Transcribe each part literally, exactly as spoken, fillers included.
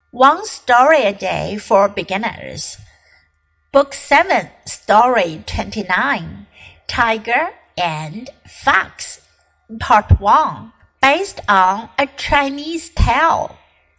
One Story a Day for Beginners. Book seven, Story twenty-nine, Tiger and Fox, Part one, based on a Chinese tale.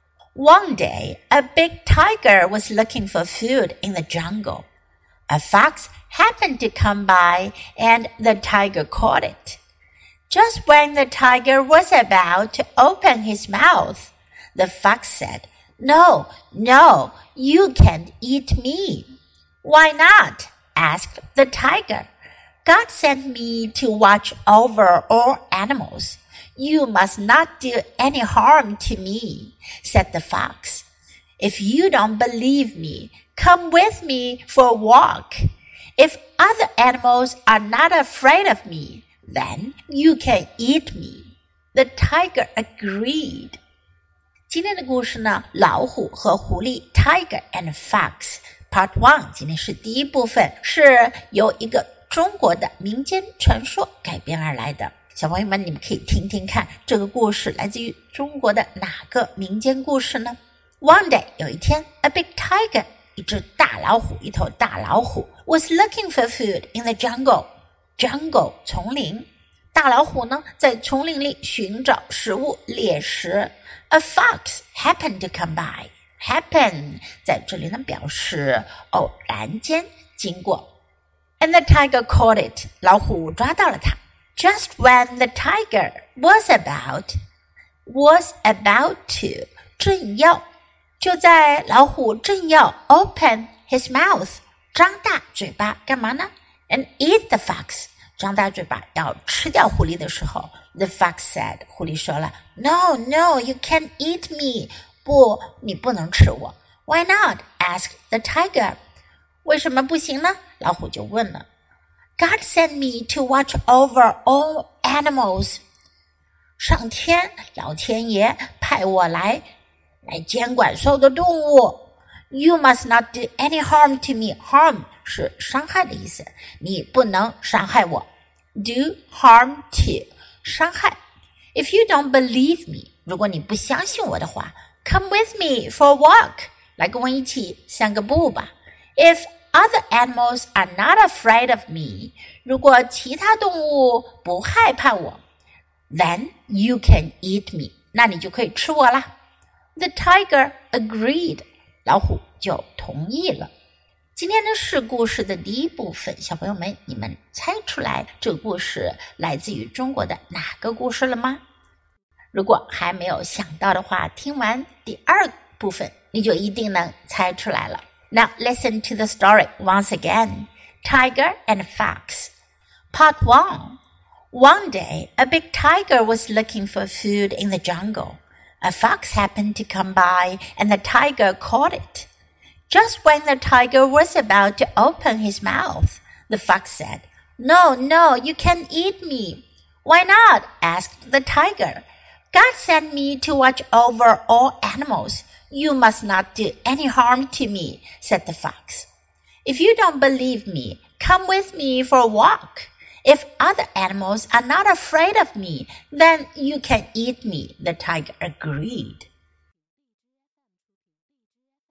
One day, a big tiger was looking for food in the jungle. A fox happened to come by, and the tiger caught it. Just when the tiger was about to open his mouth, the fox said, "No, no, you can't eat me." "Why not?" asked the tiger. "God sent me to watch over all animals. You must not do any harm to me," said the fox. "If you don't believe me, come with me for a walk. If other animals are not afraid of me, then you can eat me." The tiger agreed. 今天的故事呢，老虎和狐狸 Tiger and Fox Part one 今天是第一部分，是由一个中国的民间传说改编而来的。小朋友们，你们可以听听看，这个故事来自于中国的哪个民间故事呢？ One day 有一天 A big tiger 一只大老虎，一头大老虎 was looking for food in the jungle. Jungle 丛林，大老虎呢在丛林里寻找食物猎食。A fox happened to come by. Happen 在这里呢表示偶然间经过。And the tiger caught it. 老虎抓到了它。Just when the tiger was about, was about to, 正要，就在老虎正要 open his mouth, 张大嘴巴干嘛呢？ And eat the fox, 张大嘴巴要吃掉狐狸的时候 The fox said, 狐狸说了 No, no, you can't eat me. 不，你不能吃我。 Why not? asked the tiger. 为什么不行呢？老虎就问了。God sent me to watch over all animals. 上天，老天爷派我来来监管所有的动物。You must not do any harm to me. Harm 是伤害的意思，你不能伤害我。Do harm to 伤害。If you don't believe me, 如果你不相信我的话 Come with me for a walk. 来跟我一起散个步吧。If other animals are not afraid of me, 如果其他动物不害怕我 Then you can eat me. 那你就可以吃我啦。The tiger agreed. 老虎就同意了。今天呢是故事的第一部分，小朋友们，你们猜出来这个故事来自于中国的哪个故事了吗？如果还没有想到的话，听完第二部分你就一定能猜出来了。Now listen to the story once again. Tiger and Fox. Part one. One day, a big tiger was looking for food in the jungle. A fox happened to come by, and the tiger caught it. Just when the tiger was about to open his mouth, the fox said, No, no, you can't eat me. Why not? asked the tiger. God sent me to watch over all animals. You must not do any harm to me, said the fox. If you don't believe me, come with me for a walk. If other animals are not afraid of me, then you can eat me, the tiger agreed.